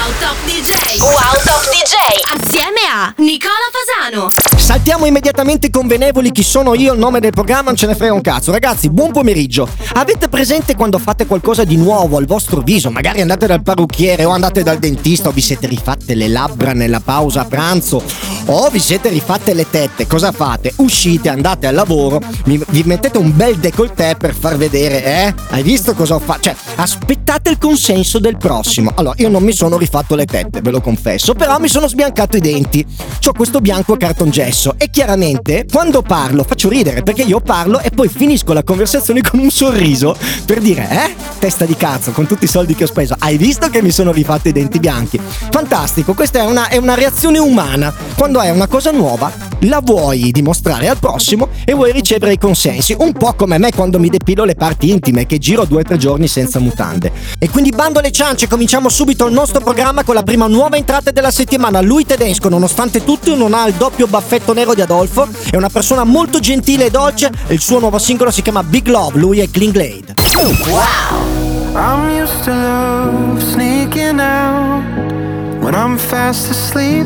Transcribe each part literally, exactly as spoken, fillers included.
Top D J. Wow Top D J. Assieme a Nicola Fasano. Saltiamo immediatamente convenevoli. Chi sono io, il nome del programma, non ce ne frega un cazzo. Ragazzi, buon pomeriggio. Avete presente quando fate qualcosa di nuovo al vostro viso? Magari andate dal parrucchiere o andate dal dentista o vi siete rifatte le labbra nella pausa pranzo o vi siete rifatte le tette. Cosa fate? Uscite, andate al lavoro, vi, vi mettete un bel décolleté per far vedere, eh? Hai visto cosa ho fatto? Cioè, aspettate il consenso del prossimo. Allora, io non mi sono rifatto le tette, ve lo confesso, però mi sono sbiancato i denti. C'ho questo bianco a cartongesso e chiaramente quando parlo faccio ridere, perché io parlo e poi finisco la conversazione con un sorriso per dire, eh? Testa di cazzo, con tutti i soldi che ho speso, hai visto che mi sono rifatto i denti bianchi? Fantastico, questa è una, è una reazione umana. Quando è una cosa nuova, la vuoi dimostrare al prossimo e vuoi ricevere i consensi, un po' come me quando mi depilo le parti intime, che giro due o tre giorni senza mutande. E quindi bando alle ciance, cominciamo subito il nostro programma con la prima nuova entrata della settimana. Lui tedesco, nonostante tutto, non ha il doppio baffetto nero di Adolfo, è una persona molto gentile e dolce e il suo nuovo singolo si chiama Big Love. Lui è Clean Glade. Wow. I'm used to love sneaking out when I'm fast asleep,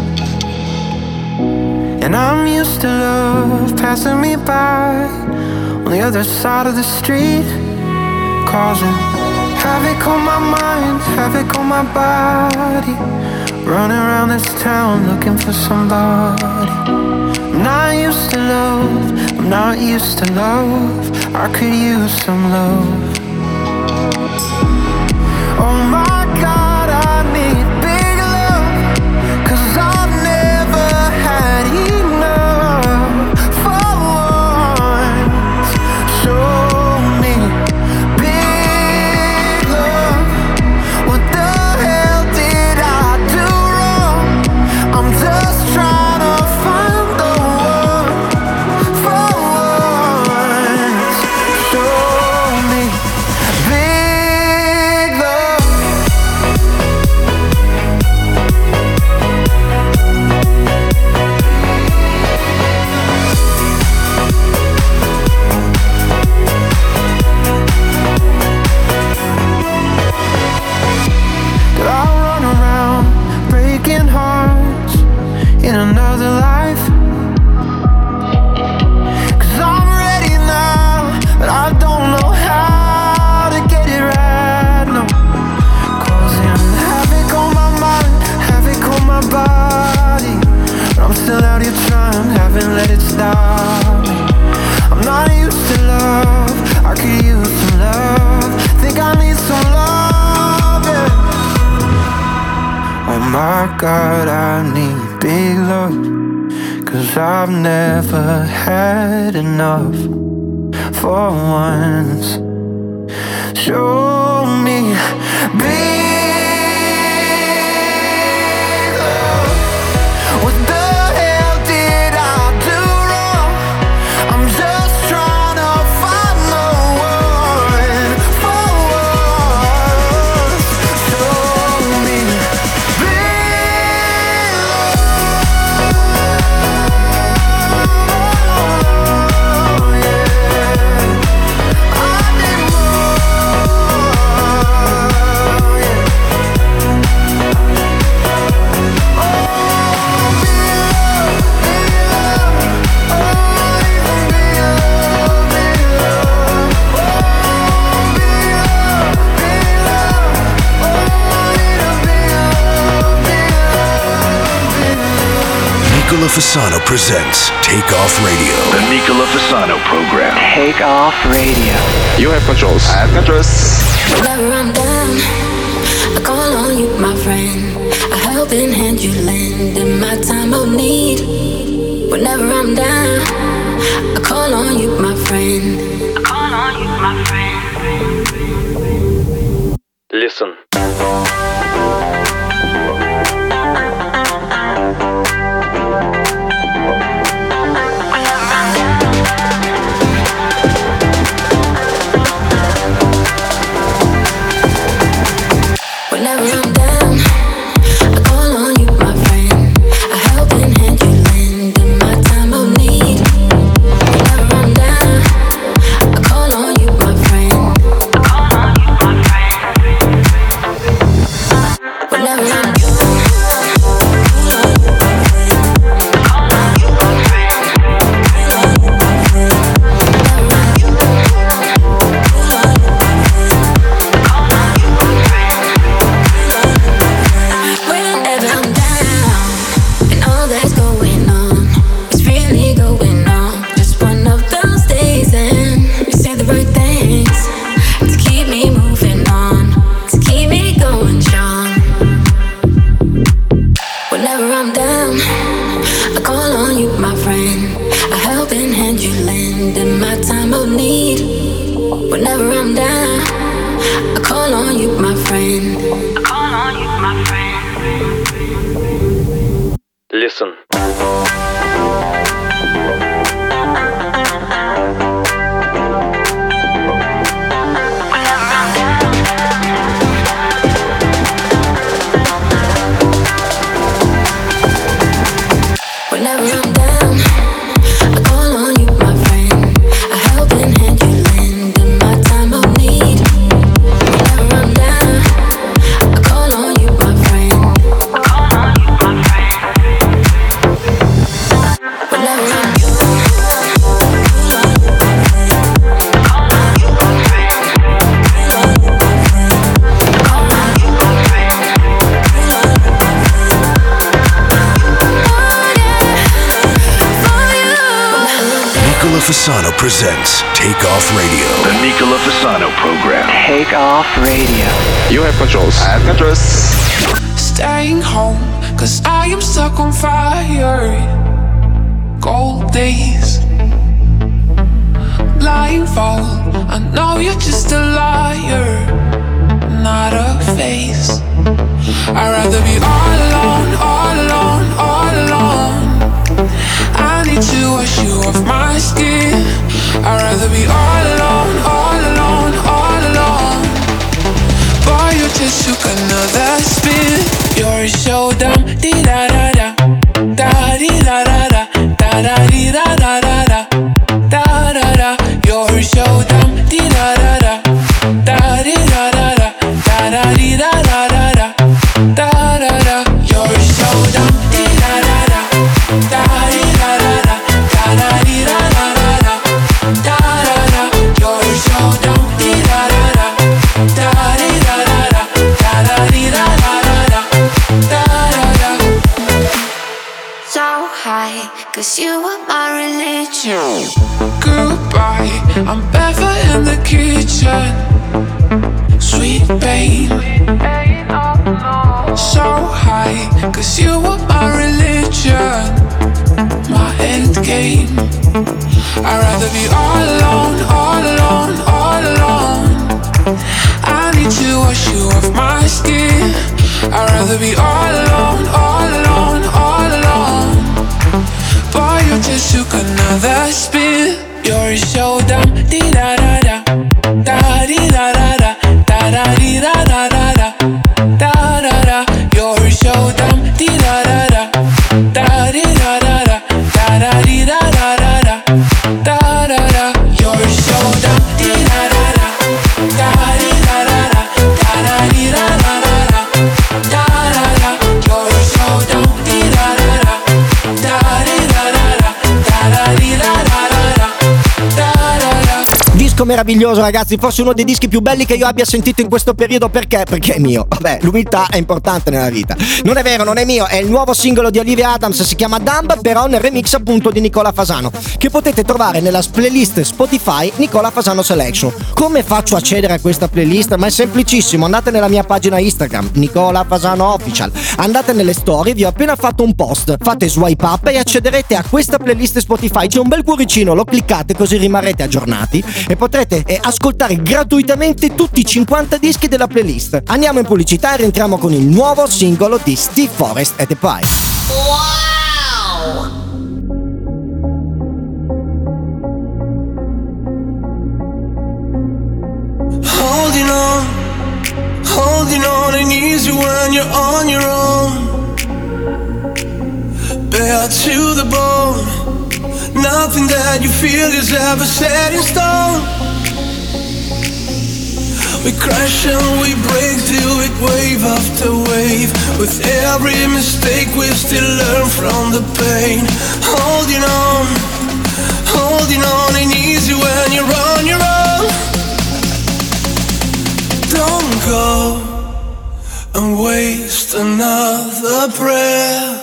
and I'm used to love passing me by on the other side of the street, causing havoc on my mind, havoc on my body, running around this town looking for somebody. I'm not used to love, I'm not used to love, I could use some love. Oh my God, I need big love, 'cause I've never had enough. For once, show me big love. What the hell did I do wrong? I'm just trying to find the one. For once, show me big love. Did I run around breaking hearts in another life? 'Cause I'm ready now, but I don't know how to get it right, no. Causing havoc on my mind, havoc on my body, but I'm still out here trying, haven't let it stop me. I'm not used to love, I could use some love, think I need some love, yeah. Oh my God, I need big love, 'cause I've never had enough. For once, show me big love. What the hell did I do wrong? I'm just trying to find the one. For once, show me big love. Yeah. I need more. Yeah. Oh, big love, big love. Oh, even big love, big love. Oh, big love, big love. Oh, need a big love, big love, big love. Nicola Fasano presents Take Off Radio. The Nicola Fasano program. Take Off Radio. You have controls. I have controls. Whenever I'm down, I call on you, my friend. A helping hand you lend in my time of need. Whenever I'm down, I call on you, my friend. I call on you, my friend. Listen. Whenever I'm down, I call on you, my friend. A helping hand you lend in my time of need. Whenever I'm down, I call on you, my friend. I call on you, my friend. Whenever I'm you. Listen. Fasano presents Take Off Radio. The Nicola Fasano program. Take Off Radio. You have controls. I have controls. Staying home, cause I am stuck on fire. Cold days. Blindfold, I know you're just a liar, not a face. I'd rather be all alone, all alone, all alone. I need to wash you off my skin. I'd rather be all alone, all alone, all alone. Boy, you just took another spin. You're so dumb, dee da da da, da dee da da da, da da dee da da da da, da da da. You're so dumb, dee da da da, da dee da da da, da da dee da da da da, da da da. You're so dumb, dee da da da, da dee da da da, da da dee da da da da, da da da. You're so dumb, dee da da da, da dee da da da, da da dee da da da da, da da da. So high, cause you were my religion. Goodbye, I'm barefoot in the kitchen. Sweet pain. So high, cause you were my religion, my end game. I'd rather be all alone, all alone, all alone. I need to wash you off my skin. I'd rather be all alone, all alone, all alone. Boy, you just took another spin. You're so dumb, dee da da da, da dee da da da, da da dee da da da da, da da da. You're so dumb, dee da da da, da dee da da da, da da dee da da da da, da da da. You're so dumb, dee da da da, da dee da da da, da da dee da da da da, da da da. You're so dumb, dee da da da, da dee da da da, da da dee da da da da, da da da. Disco meraviglioso, ragazzi, forse uno dei dischi più belli che io abbia sentito in questo periodo. Perché? Perché è mio. Vabbè, l'umiltà è importante nella vita. Non è vero, non è mio, è il nuovo singolo di Olivia Adams, si chiama Dumb, però nel remix appunto di Nicola Fasano, che potete trovare nella playlist Spotify Nicola Fasano Selection. Come faccio a accedere a questa playlist? Ma è semplicissimo, andate nella mia pagina Instagram, Nicola Fasano Official, andate nelle storie, vi ho appena fatto un post, fate swipe up e accederete a questa playlist Spotify. C'è un bel cuoricino, lo cliccate così rimarrete aggiornati e potrete eh, ascoltare gratuitamente tutti i cinquanta dischi della playlist. Andiamo in pubblicità e rientriamo con il nuovo singolo di Steve Forrest e The Price. Wow! Holding on, holding on ain't easy when you're on your own. Bare to the bone, nothing that you feel is ever set in stone. We crash and we break through it wave after wave. With every mistake we still learn from the pain. Holding on, holding on ain't easy when you're on your own. Don't go and waste another breath.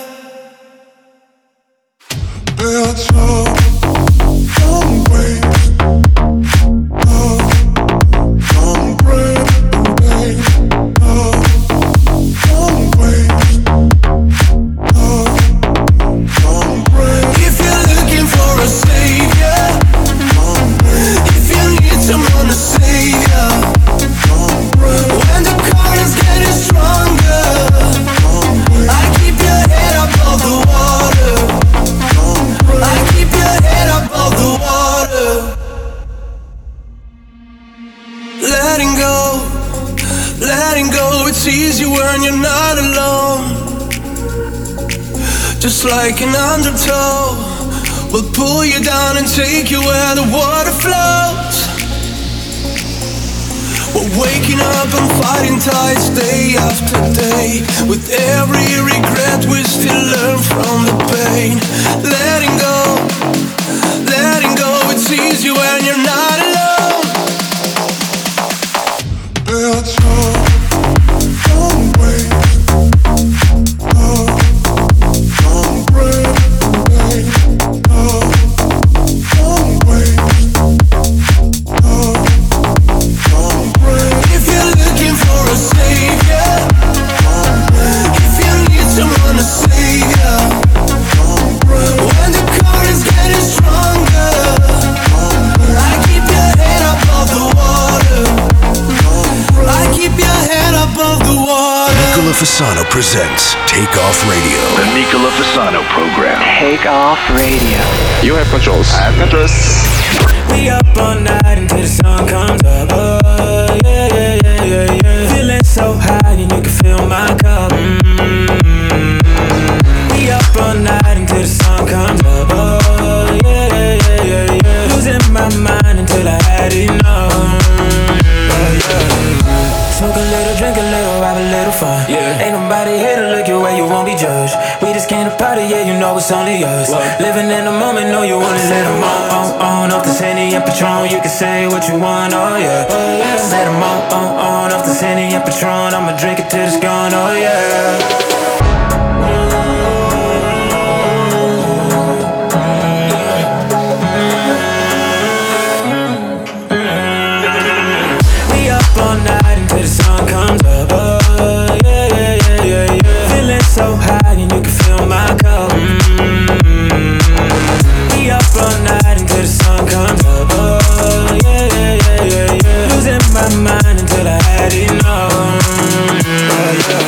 That's all. Don't waste another breath, babe. Oh, don't waste another breath. If you're looking for a savior, if you need someone to save ya, when the current's getting stronger, I keep your head above the water. I keep your head above the water. Letting go, letting go, it's easy when you're not alone. Just like an undertow, will pull you down and take you where the water flows. We're waking up and fighting tides day after day. With every regret we still learn from the pain. Letting go, letting go, it's easy when you're not alone. That's all. Don't waste another breath, babe. Oh, don't waste another breath. If you're looking for a savior, if you need someone to save ya, when the current's getting stronger, I keep your head above the water. I keep your head above the water. Nicola Fasano presents Take Off Radio. The Nicola Fasano program. Take Off Radio. You have controls. I have controls. We up all night until the sun comes up. Oh, yeah, yeah, yeah, yeah, yeah. Feeling so high and you can fill my cup. Mm-hmm. We up all night until the sun comes up. Oh, yeah, yeah, yeah, yeah, yeah. Losing my mind until I had enough. Oh, yeah. Smoke a little, drink a little, have a little fun. Yeah. Ain't nobody here to look your way, you won't be judged. We just came to party, yeah, you know it's only us. What? Living in the moment, know you wanna let them on, on, on. Off the Henny and Patron, you can say what you want, oh yeah, oh yeah. Let them on, on, on. Off the Henny and Patron, I'ma drink it till it's gone, oh yeah. All night until the sun comes up. Oh, yeah, yeah, yeah, yeah, yeah. Feeling so high and you can fill my cup. Mm-hmm. We up all night until the sun comes up. Oh, yeah, yeah, yeah, yeah, yeah. Losing my mind until I had enough. Oh, yeah.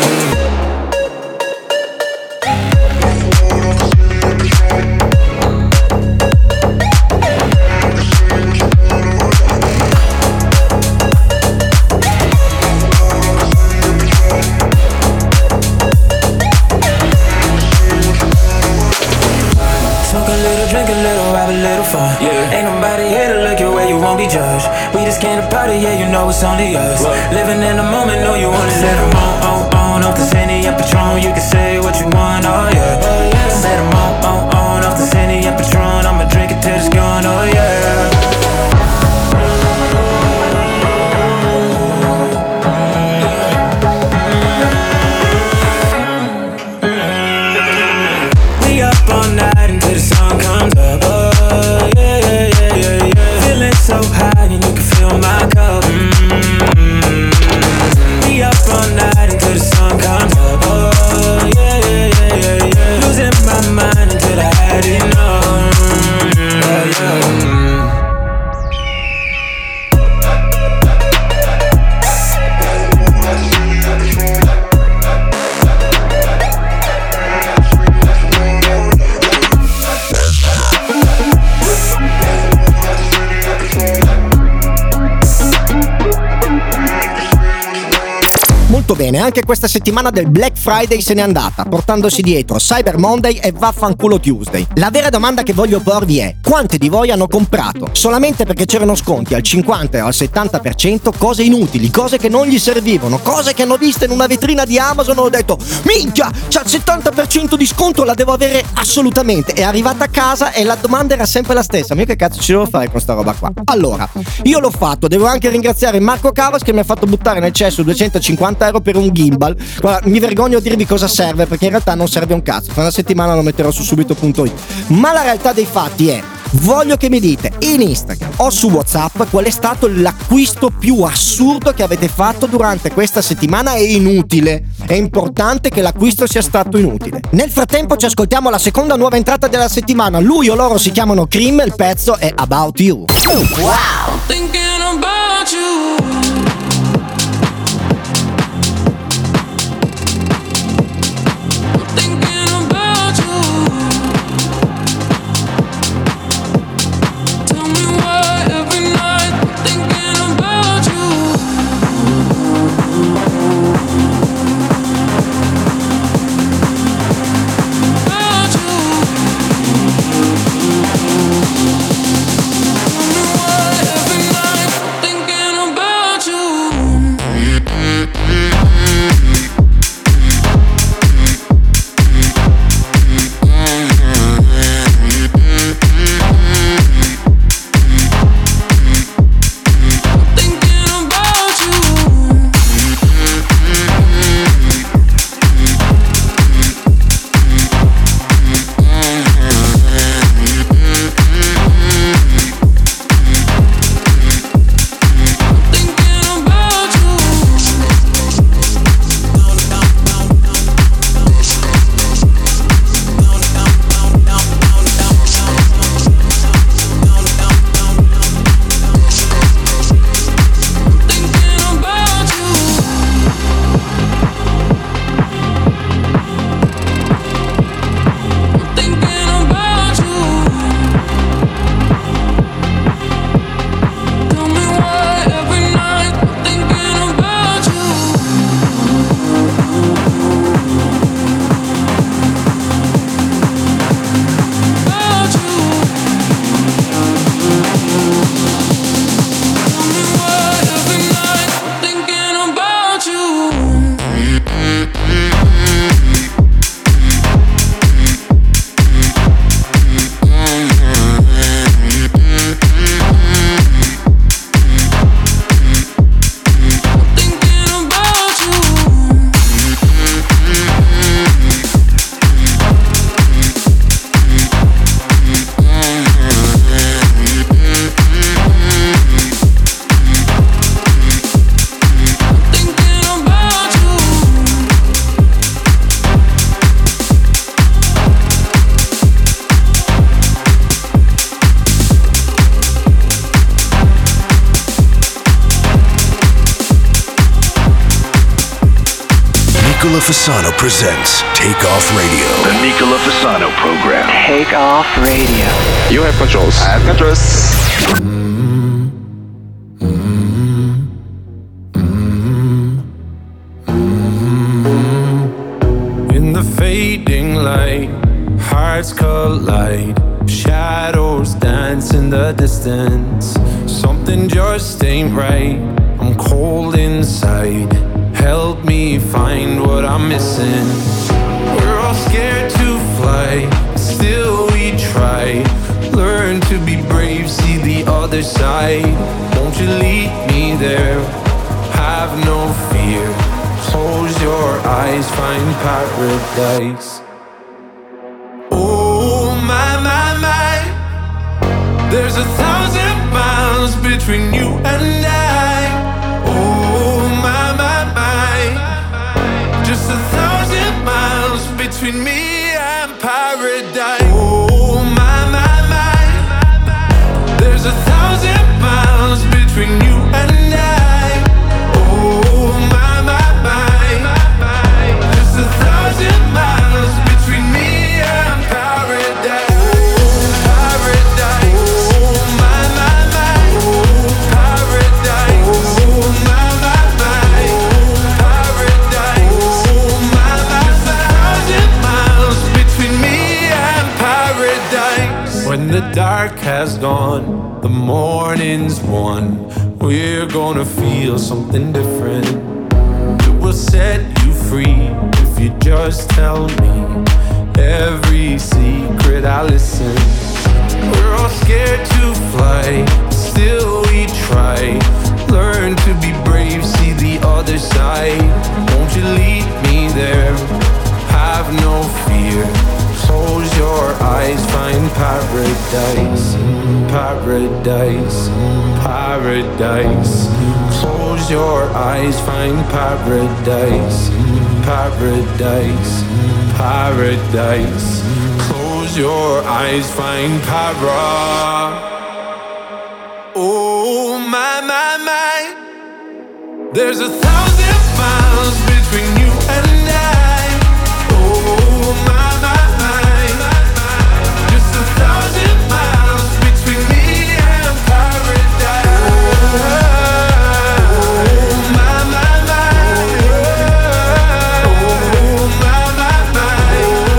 Drink a little, have a little fun. Yeah. Ain't nobody here to look your way, you won't be judged. We just came to party, yeah, you know it's only us. What? Living in the moment, know you wanna let them on, on, on. Off the Henny and Patron, you can say what you want, oh yeah, oh yeah. Let them on, on, on. Off the Henny and Patron, I'ma drink it till it's gone, oh yeah. We up all night until the sun comes up. Oh, yeah, yeah, yeah, yeah, yeah. Feeling so high and you can fill my cup. Mm-hmm. We up all night until the sun comes bene, anche questa settimana del Black Friday se n'è andata, portandosi dietro Cyber Monday e Vaffanculo Tuesday. La vera domanda che voglio porvi è: quanti di voi hanno comprato solamente perché c'erano sconti al cinquanta o al settanta per cento cose inutili, cose che non gli servivano, cose che hanno visto in una vetrina di Amazon e ho detto minchia, c'è il settanta per cento di sconto, la devo avere assolutamente. È arrivata a casa e la domanda era sempre la stessa: ma io che cazzo ci devo fare con sta roba qua? Allora, io l'ho fatto, devo anche ringraziare Marco Cavas che mi ha fatto buttare nel cesso duecentocinquanta euro per un gimbal. Guarda, mi vergogno a dirvi cosa serve, perché in realtà non serve un cazzo. Fra una settimana lo metterò su subito punto it. Ma la realtà dei fatti è: voglio che mi dite in Instagram o su WhatsApp qual è stato l'acquisto più assurdo che avete fatto durante questa settimana e inutile. È importante che l'acquisto sia stato inutile. Nel frattempo ci ascoltiamo la seconda nuova entrata della settimana. Lui o loro si chiamano Cream, il pezzo è About You. Wow! Thinking about you. Nicola Fasano presents Take Off Radio. The Nicola Fasano program. Take Off Radio. You have controls. I have controls. In the fading light, hearts collide. Shadows dance in the distance. Something just ain't right. I'm cold inside. Help me find what I'm missing. We're all scared to fly, still we try. Learn to be brave, see the other side. Won't you lead me there? Have no fear. Close your eyes, find paradise. Oh my, my, my. There's a thousand miles between you and I. Oh my, my, my. Just a thousand miles between me and paradise. Oh my, my, my. There's a thousand miles between you and I. Oh my, my, my. Just a thousand miles between me and paradise. Oh, paradise. Oh my, my, my. Oh, paradise. Oh my, my, my. Oh, paradise. has gone, the morning's won. We're gonna feel something different. It will set you free if you just tell me every secret. I listen. We're all scared to fly, still we try. Learn to be brave, see the other side. Won't you lead me there? Have no fear. Close your eyes, find paradise, paradise, paradise. Close your eyes, find paradise, paradise, paradise. Close your eyes, find para. Oh my, my, my. There's a thousand miles between you and I. Oh my, my, my. Just a thousand miles between me and paradise. Oh my, my, my. Oh my, my, my.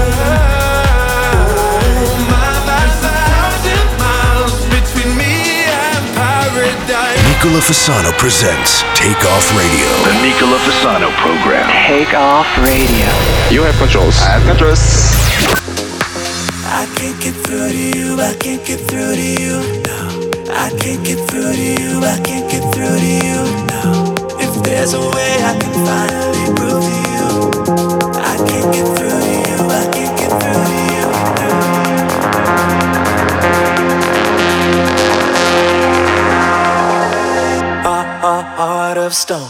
Oh my, my, my. Thousand miles between me and paradise. Nicola Fasano presents Take Off Radio. The Nicola Fasano program. Take Off Radio. You have controls. I have controls. I can't get through to you, I can't get through to you, no. I can't get through to you, I can't get through to you, no. If there's a way I can finally prove to you, I can't get through to you, I can't get through to you, no. A, a heart of stone.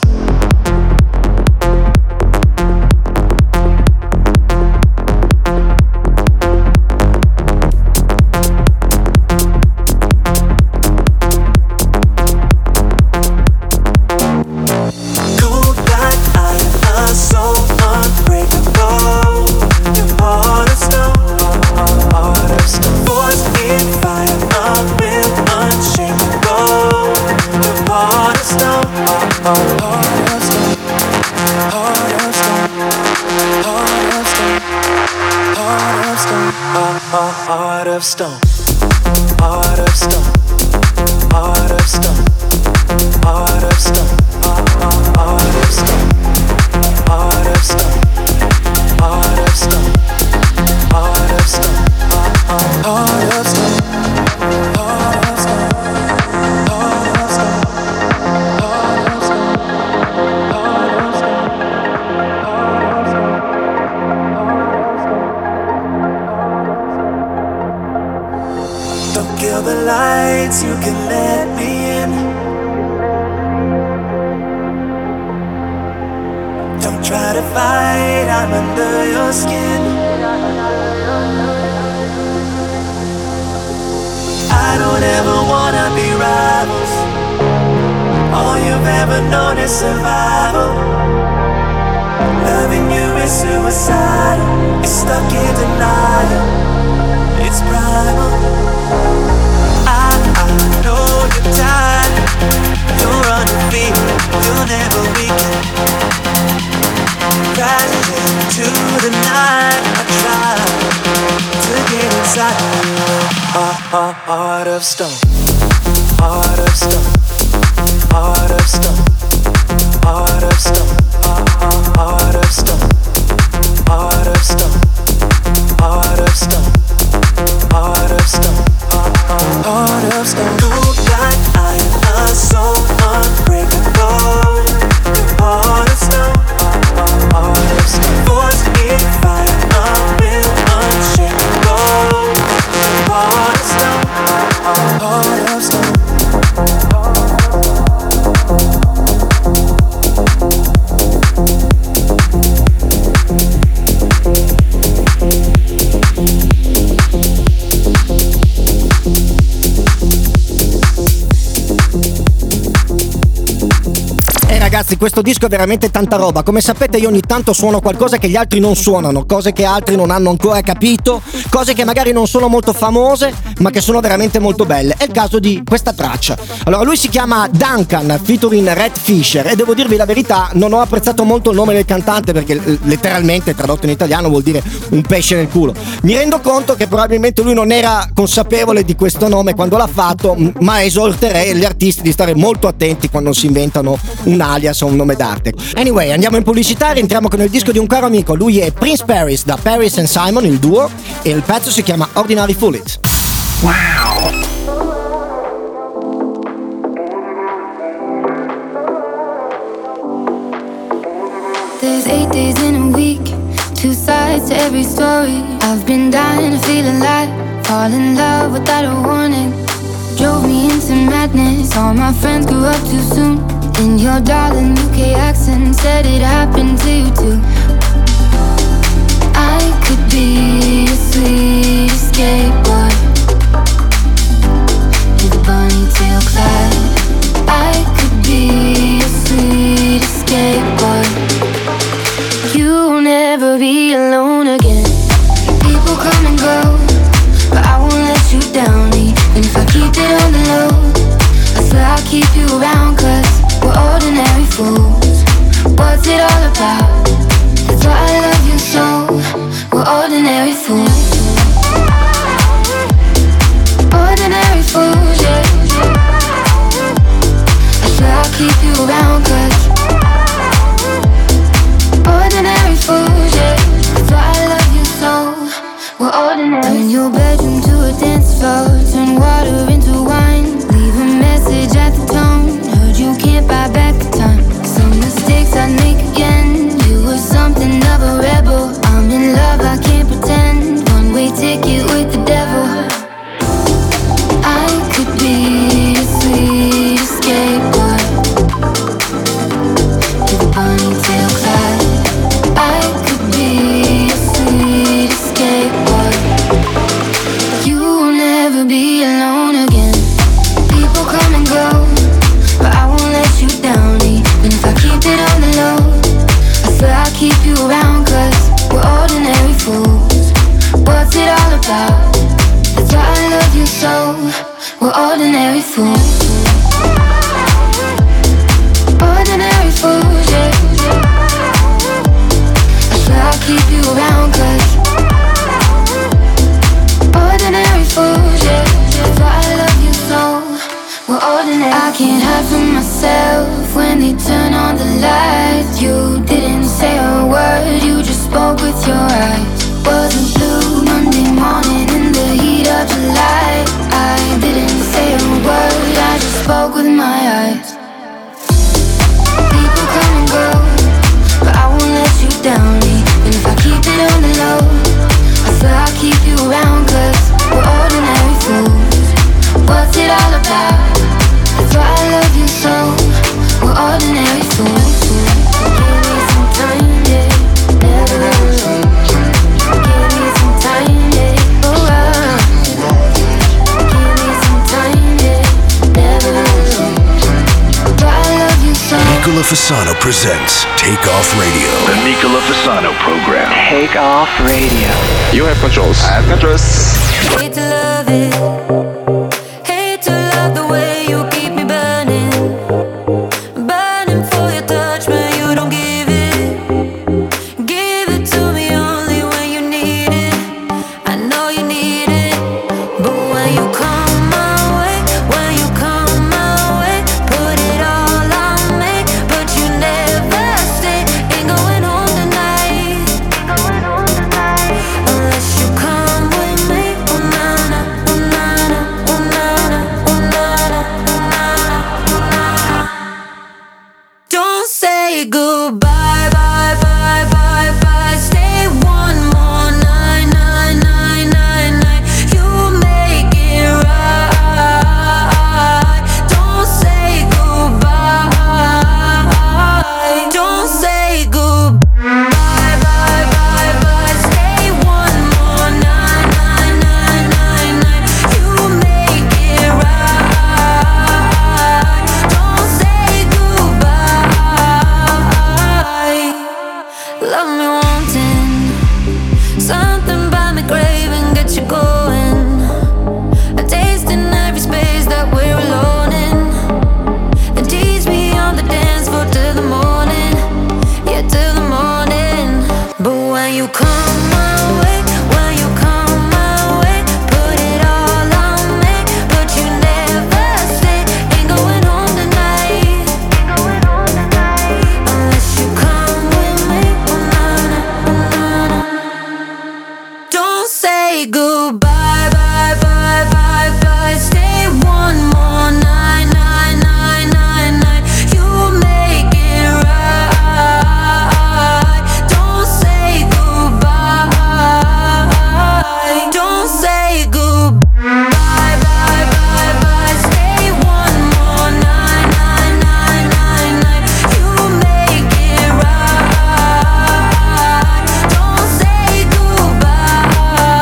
Heart of stone, heart of stone, heart of stone, heart of stone, heart of stone, heart of stone, heart of stone, heart of stone, heart of stone, heart of stone, heart of stone, heart of stone, heart of stone. Don't kill the lights, you can let me in. Don't try to fight, I'm under your skin. I don't ever wanna be rivals. All you've ever known is survival. Loving you is suicidal. It's stuck in denial. It's primal. I, I know you're tired. You're undefeated. You'll never weaken. Crashing into the night. I try to get inside you. Heart, heart of stone. Heart of stone. Heart of stone. Heart of stone. Heart of stone. Heart of stone. Heart of stone. Heart of stone, heart of stone. Cold like iron, a soul unbreakable. Heart of stone, heart of stone. Force in fire, a will unshakable. Heart of stone, heart of stone. ragazzi, questo disco è veramente tanta roba. Come sapete io ogni tanto suono qualcosa che gli altri non suonano, cose che altri non hanno ancora capito, cose che magari non sono molto famose ma che sono veramente molto belle. È il caso di questa traccia. Allora, lui si chiama Duncan featuring Red Fisher e devo dirvi la verità, non ho apprezzato molto il nome del cantante perché letteralmente tradotto in italiano vuol dire un pesce nel culo. Mi rendo conto che probabilmente lui non era consapevole di questo nome quando l'ha fatto, ma esorterei gli artisti di stare molto attenti quando si inventano un alias o un nome d'arte. Anyway, andiamo in pubblicità e entriamo con il disco di un caro amico. Lui è Prince Paris da Paris and Simon, il duo, e il pezzo si chiama Ordinary Fool It. Wow. There's eight days in a week, two sides to every story. I've been dying to feel alive, fall in love without a warning. Drove me into madness, all my friends grew up too soon. And your darling U K accent said it happened to you too. I could be a sweet escape, but with a ponytail Clyde. I could be a sweet escape, but you'll never be alone again. People come and go, but I won't let you down. Even if I keep it on the low, I swear I'll keep you around, cause we're ordinary fools. What's it all about? That's why I love you so. We're ordinary fools. Ordinary fools, yeah. I swear I'll keep you around, cause ordinary fools, yeah. That's why I love you so. We're ordinary. Turn your bedroom to a dance floor, turn water into wine. Leave a message at the tone. Heard you can't buy back the time. Some mistakes I'd make again. You were something of a rebel. I'm in love, I can't pretend. One way ticket with the devil. I could be a sweet escape, but with a ponytail Clyde. I could be a sweet escape, but you'll never be alone again. People come and go, but I won't let you down. Even if I keep it on the low, I swear I'll keep you around, cause we're ordinary fools. What's it all about? That's why I love you so. We're ordinary fools. Ordinary fools, yeah. I swear I'll keep you around, cause ordinary fools, yeah. That's why I love you so. We're ordinary. I can't hide from myself when they turn on the lights. You didn't say a word, you just spoke with your eyes. Was a blue Monday morning in the heat of July. I didn't say a word, I just spoke with my eyes. People come and go, but I won't let you down. Even if I keep it on the low, I swear I'll keep you around, cause we're ordinary fools. What's it all about? That's why I love you so. We're ordinary fools. Give me some time, yeah. Never alone. Give me some time, yeah. Oh, uh. Give me some time, yeah. Never alone. Why I love you so. Nicola Fasano presents Take Off Radio. The Nicola Fasano program. Take Off Radio. You have controls. I have controls. Hate to love it. Hate to love the way you keep me burning. Burning for your touch, but you don't give it. Give it to me only when you need it. I know you need it. But when you come my way, when you come my way, put it all on me. But you never stay. Ain't going home tonight. Ain't going home tonight. Unless you come with me. Oh na na, oh na you come my way, when you come my way, put it all on me, but you never say, ain't going home tonight, ain't going home tonight, unless you come with me, oh na na, oh na na. Don't say goodbye, bye, bye, bye, bye, stay one more night, night, night, night, night, you make it right. Don't say goodbye, don't say goodbye, bye, bye, bye, bye, stay one more night, night, night, night, night, you make it right. Don't say goodbye.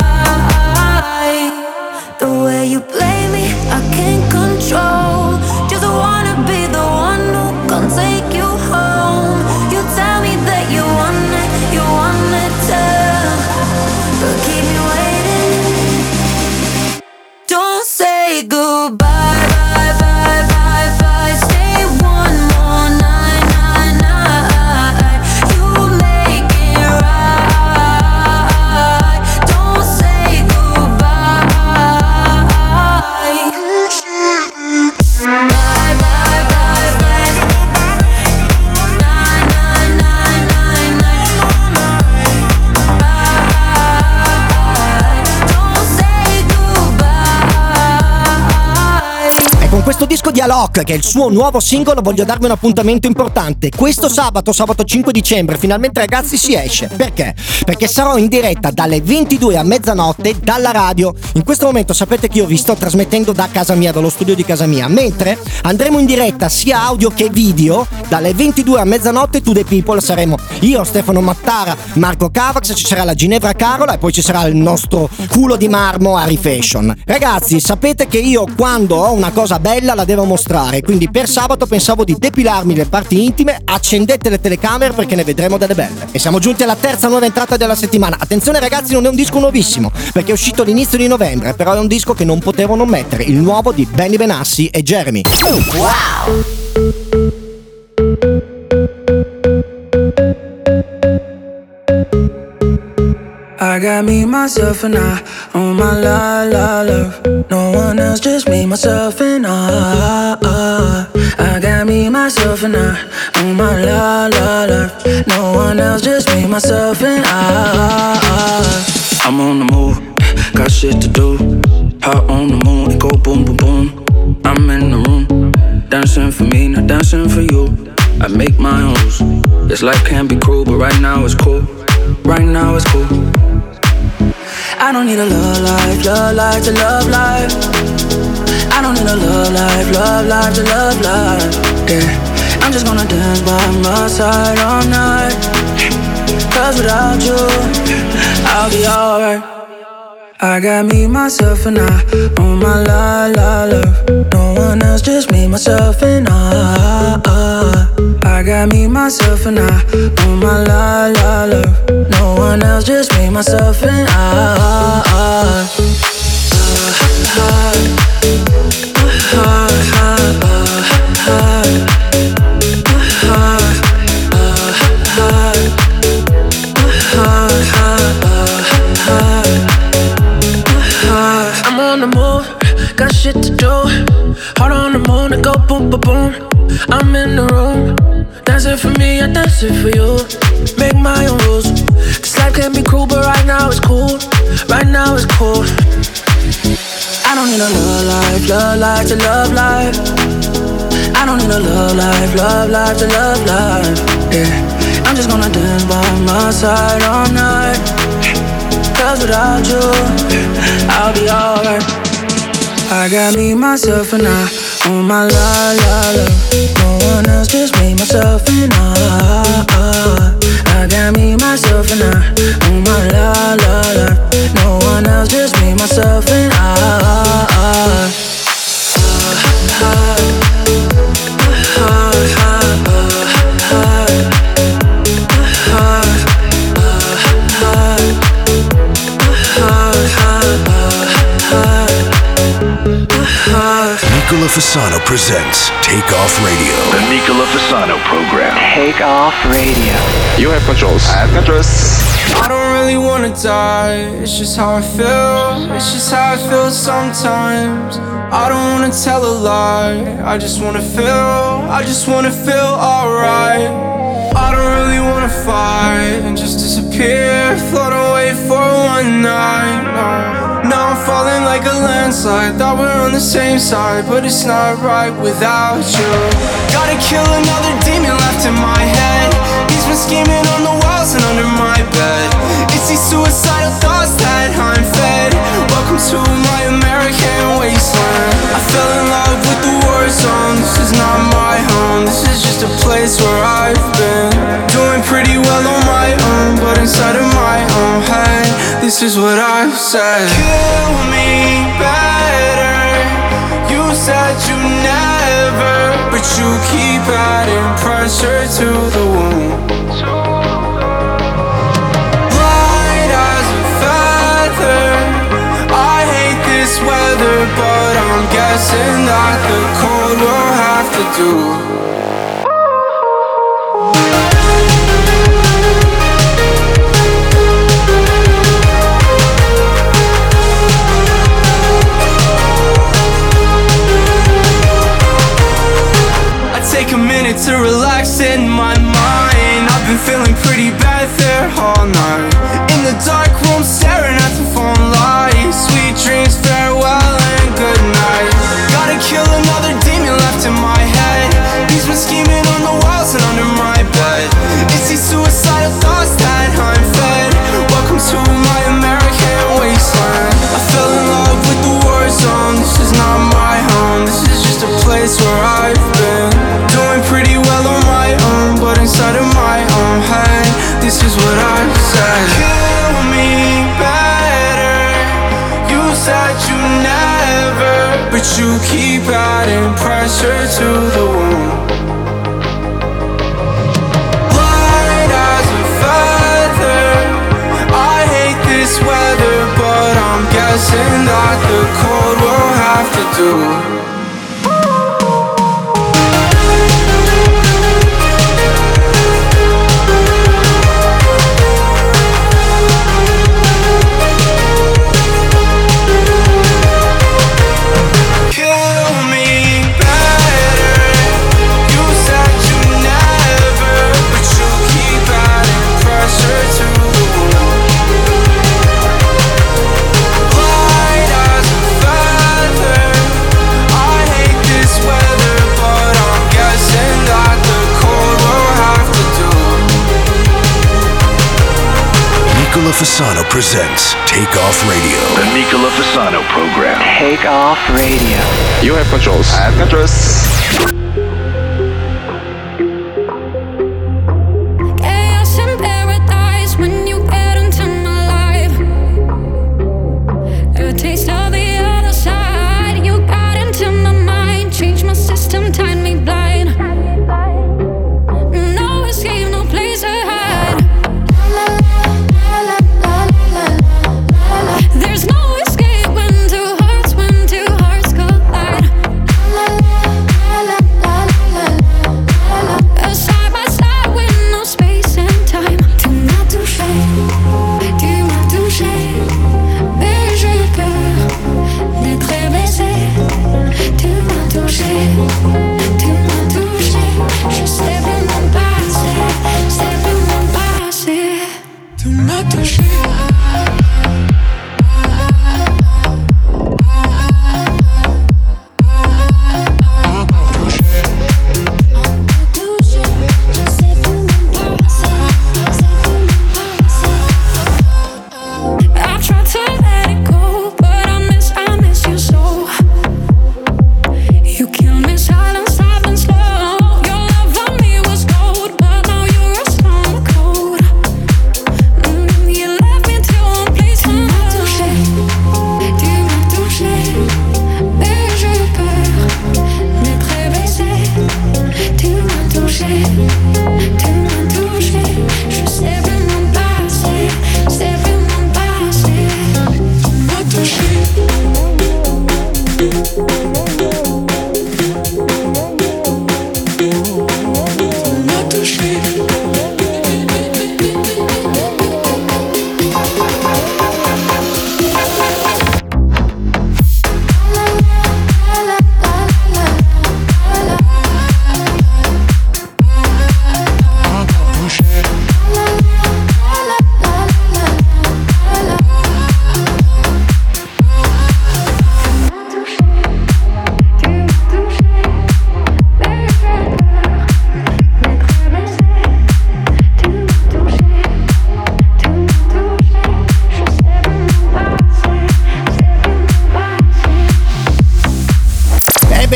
The way you play me, I can't control. Just wanna be the one who can take you home. You tell me that you want it, you want it too, but keep me waiting. Don't say goodbye, bye, bye, bye, bye, stay one more night, night, night, you make it right. Don't say goodbye, bye, bye, bye, bye, nine, nine, nine, nine, nine, don't say goodbye. E con questo disco di Alok, che è il suo nuovo singolo, voglio darvi un appuntamento importante. Questo sabato, sabato cinque dicembre, finalmente ragazzi si esce. Perché? Perché sarò in diretta dalle ventidue a mezzanotte dalla radio. In questo momento sapete che io vi sto trasmettendo da casa mia, dallo studio di casa mia, mentre andremo in diretta sia audio che video dalle ventidue a mezzanotte. To the People saremo io, Stefano Mattara, Marco Cavax, ci sarà la Ginevra Carola e poi ci sarà il nostro culo di marmo Harry Fashion. Ragazzi, sapete che io quando ho una cosa bella la devo mostrare, quindi per sabato pensavo di depilarmi le parti intime. Accendete le telecamere perché ne vedremo delle belle. E siamo giunti alla terza nuova entrata della settimana. Attenzione ragazzi, non è un disco nuovissimo perché è uscito all'inizio di novembre, però è un disco che non potevo non mettere, il nuovo di Benny Benassi e Jeremy. Wow! I got me, myself, and I on my la la love. No one else, just me, myself, and I. I got me, myself, and I on my la la love. No one else, just me, myself, and I. I'm on the move, got shit to do. Hot on the moon, it go boom, boom, boom. I'm in the room, dancing for me, not dancing for you. I make my own rules. This life can be cruel, but right now it's cool. Right now it's cool. I don't need a love life, love life to love life. I don't need a love life, love life to love life. Yeah, I'm just gonna dance by my side all night. Cause without you, I'll be alright. I got me, myself, and I on my la la love. No one else, just me, myself, and I. I got me, myself, and I on my la la love. No one else, just me, myself, and I. I'm on the move, got shit to do. Heart on the moon, it go boom, boom, boom. I'm in the room, dancing for me, I dance it for you. Make my own rules. This life can be cruel, but right now it's cool. Right now it's cool. I don't need a love life, love life to love life. I don't need a love life, love life to love life. Yeah, I'm just gonna dance by my side all night. Cause without you, I'll be alright. I got me, myself, and I on my la la la. No one else, just me, myself, and I. I got me, myself, and I on my la la la. No one else, just me, myself, and I. Nicola Fasano presents Take Off Radio. The Nicola Fasano program. Take Off Radio. You have controls. I have controls. I don't really wanna die, it's just how I feel. It's just how I feel sometimes. I don't wanna tell a lie, I just wanna feel, I just wanna feel alright. I don't really wanna fight and just disappear, float away for one night. No. Now I'm falling like a landslide, thought we were on the same side, but it's not right without you. Gotta kill another demon left in my head. He's been scheming on the walls and under my bed. It's these suicidal thoughts that I'm fed. Welcome to my American wasteland. I fell in love with the war zone. This is not my home, this is just a place where I've been. Doing pretty well on my own, but inside of my own head, this is what I've said. Kill me better. You said you never, but you keep adding pressure to the wound. Light as a feather. I hate this weather, but I'm guessing that the cold will have to do. Take a minute to relax in my mind. I've been feeling pretty bad there all night. In the dark room staring at the phone lights. Sweet dreams, farewell and good night. Gotta kill another demon left in my head. He's been scheming on the walls and under my bed. It's these suicidal thoughts that I'm fed. Welcome to my American wasteland. I fell in love with the war zone. This is not my home, this is just a place where I've been. Doing pretty well on my own, but inside of my own head, this is what I've said. Kill me better. You said you never, but you keep adding pressure to the wound. Light as a feather. I hate this weather, but I'm guessing that the cold will have to do. Nicola Fasano presents Take Off Radio. The Nicola Fasano program. Take Off Radio. You have controls. I have controls. Chaos in paradise when you get into my life. A taste of the other side. You got into my mind, changed my system, tied me blind. No escape, no place to hide. There's no escape when two hearts, when two hearts collide.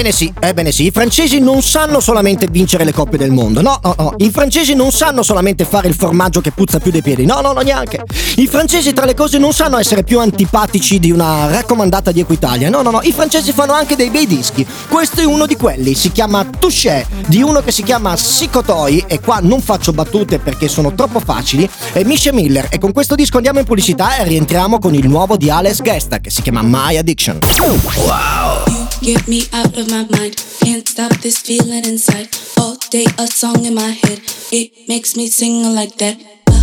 Ebbene sì, ebbene sì, i francesi non sanno solamente vincere le coppe del mondo, no, no, no, i francesi non sanno solamente fare il formaggio che puzza più dei piedi, no, no, no, neanche. I francesi tra le cose non sanno essere più antipatici di una raccomandata di Equitalia, no, no, no, i francesi fanno anche dei bei dischi. Questo è uno di quelli, si chiama Touché, di uno che si chiama Sicotoi, e qua non faccio battute perché sono troppo facili, è Misha Miller, e con questo disco andiamo in pubblicità e rientriamo con il nuovo di Alex Gesta che si chiama My Addiction. Wow. Get me out of my mind, can't stop this feeling inside. All day a song in my head, it makes me sing like that.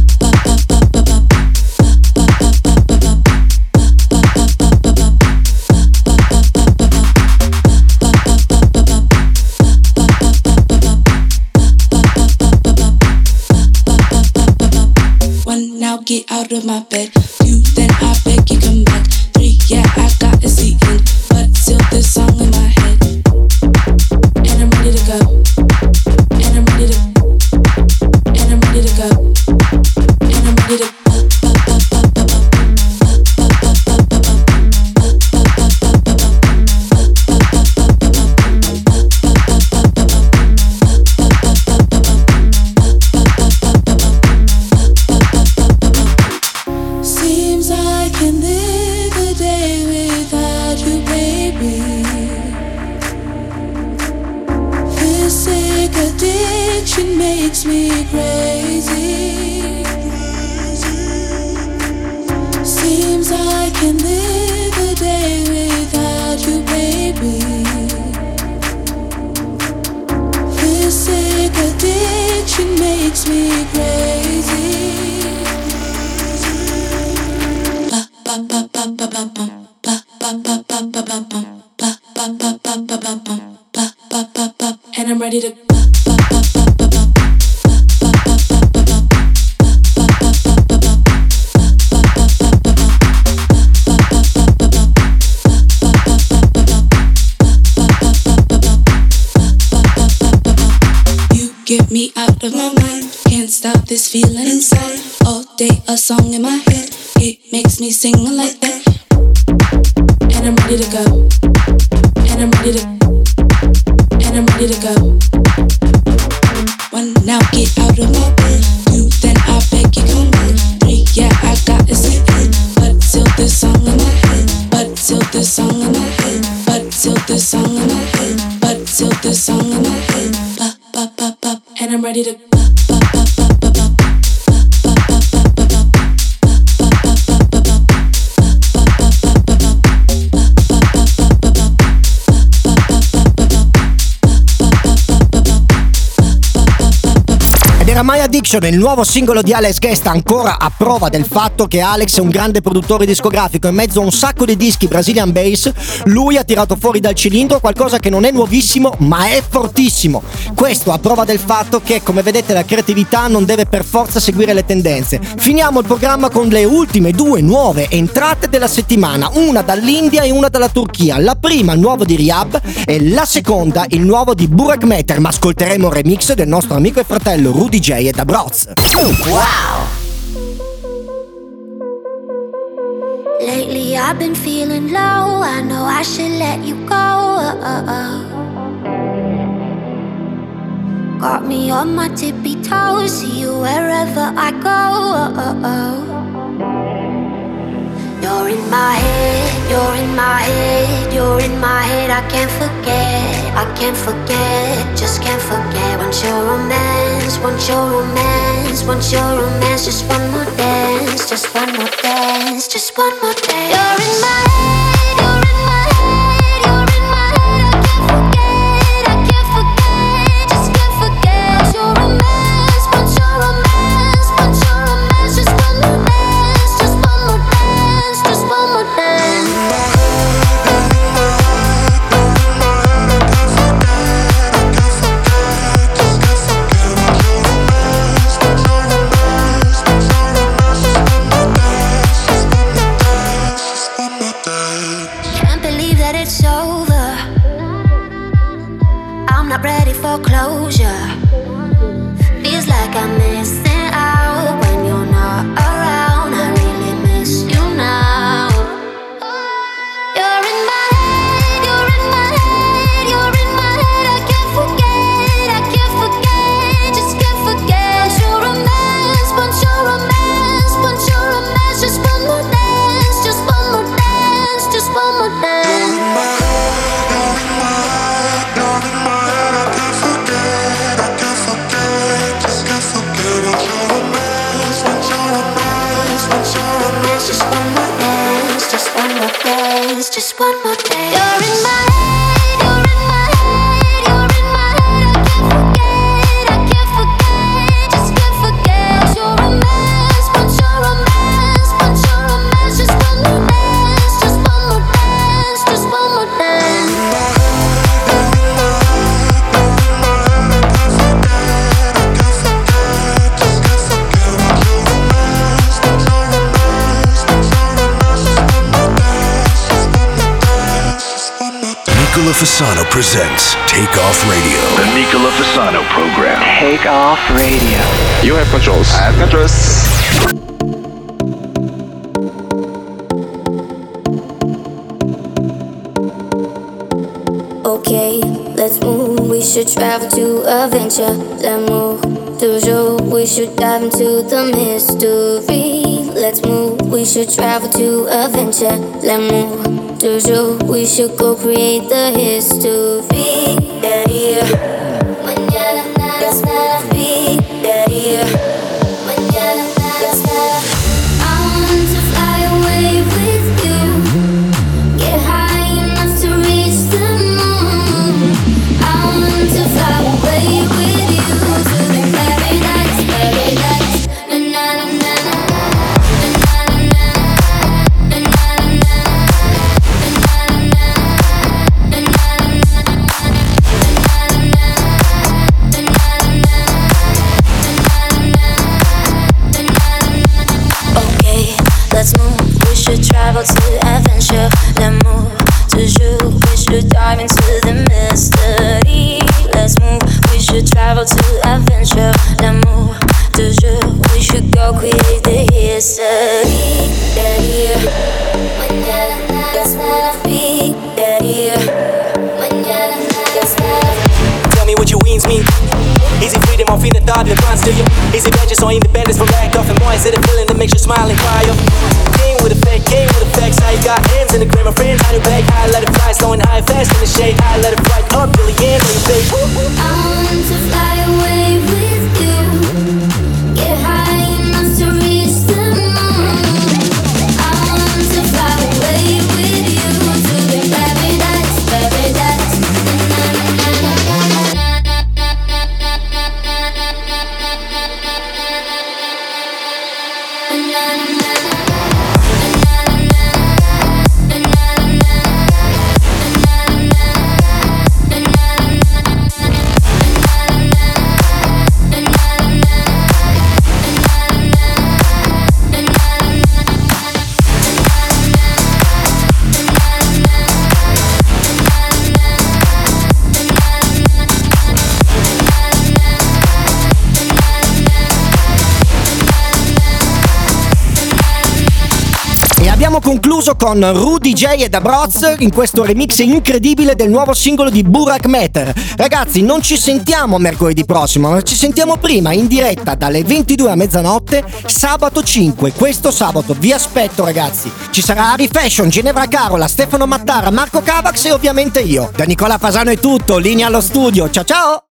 One, now get out of my bed. Two, then I beg you come back. Three, yeah, I got a seat in, but still this song in my head. And I'm ready to go. And I'm ready to. And I'm ready to go. And I'm ready to. Seems I can live a day without you, baby. This sick addiction makes me crazy. Seems I can live a day without you, baby. This sick addiction makes me crazy. And I'm ready to. You get me out of my mind, can't stop this feeling inside. All day a song in my head, it makes me sing like that. And I'm ready to go. And I'm ready to. And I'm ready to go. One, now get out of my bed. Two, then I beg you come back. Three, yeah, I got a seat in, but still this song in my head. But still this song in my head. But still this song in my head. But still this song in my head. Ba ba ba ba. And I'm ready to. Era My Addiction, il nuovo singolo di Alex Gesta, ancora a prova del fatto che Alex è un grande produttore discografico. In mezzo a un sacco di dischi Brazilian Bass, lui ha tirato fuori dal cilindro qualcosa che non è nuovissimo ma è fortissimo. Questo a prova del fatto che, come vedete, la creatività non deve per forza seguire le tendenze. Finiamo il programma con le ultime due nuove entrate della settimana, una dall'India e una dalla Turchia. La prima il nuovo di Rehab e la seconda il nuovo di Burak Meter, ma ascolteremo un remix del nostro amico e fratello Rudy J e da Broz. Wow! Lately I've been feeling low, I know I should let you go. uh, uh, uh. Got me on my tippy toes, see you wherever I go. uh, uh, uh. You're in my head, you're in my head, you're in my head. I can't forget, I can't forget, just can't forget. Want your romance, want your romance, want your romance. Just one more dance, just one more dance, just one more dance. You're in my head, you're in my head, you're in my head. I can't forget, I can't forget, just can't forget. Want your romance, want your romance, want your romance. Just one more dance, just one more dance, just one more dance. just one more dance, just one more dance, just one more dance. You're in my head, you're in my head, you're in my head. I can't forget, I can't forget, just can't forget your romance, but your romance, but your romance. Just one more dance, just one more dance, just one more dance. Nicola Fasano presents Take Off Radio. The Nicola Fasano program. Take Off Radio. You have controls. I have controls. Okay, let's move. We should travel to adventure. Let's move. Toujours, we should dive into the mystery. Let's move. We should travel to adventure. Let's move. Toujours, we should go create the history. Yeah, yeah. Mañana nada es nada free. Yeah, yeah. Mañana nada es nada. I want to fly away with you. Get high enough to reach the moon. I want to fly away with you to the paradise, paradise. Na na na na na. Travel to adventure, let's move. Toujours, we should dive into the mystery. Let's move, we should travel to adventure, let's move. Toujours, we should go create the history. Yeah, yeah. Mañana nada es nada free. Yeah, yeah. Mañana nada es nada. Tell me what your wings mean. Easy freedom, I'm feeling thought that runs to you. Easy vengeance or independence from lack of. And more is it a feeling that makes you smile and cry up. King with effect, king with effects. How you got hands in the green, my friends, how you back. High, let it fly, slowing high, fast in the shade. High, let it fly up, really in, really big. I want to fly away with you. Get high enough to reach the moon. I want to fly away with you to the paradise, paradise. Na na na na na na. Abbiamo concluso con Rudy J e Dabroz in questo remix incredibile del nuovo singolo di Burak Meter. Ragazzi, non ci sentiamo mercoledì prossimo, ma ci sentiamo prima in diretta dalle ventidue a mezzanotte sabato cinque. Questo sabato vi aspetto, ragazzi. Ci sarà Ari Fashion, Ginevra Carola, Stefano Mattara, Marco Cavax e ovviamente io. Da Nicola Fasano è tutto, linea allo studio. Ciao ciao!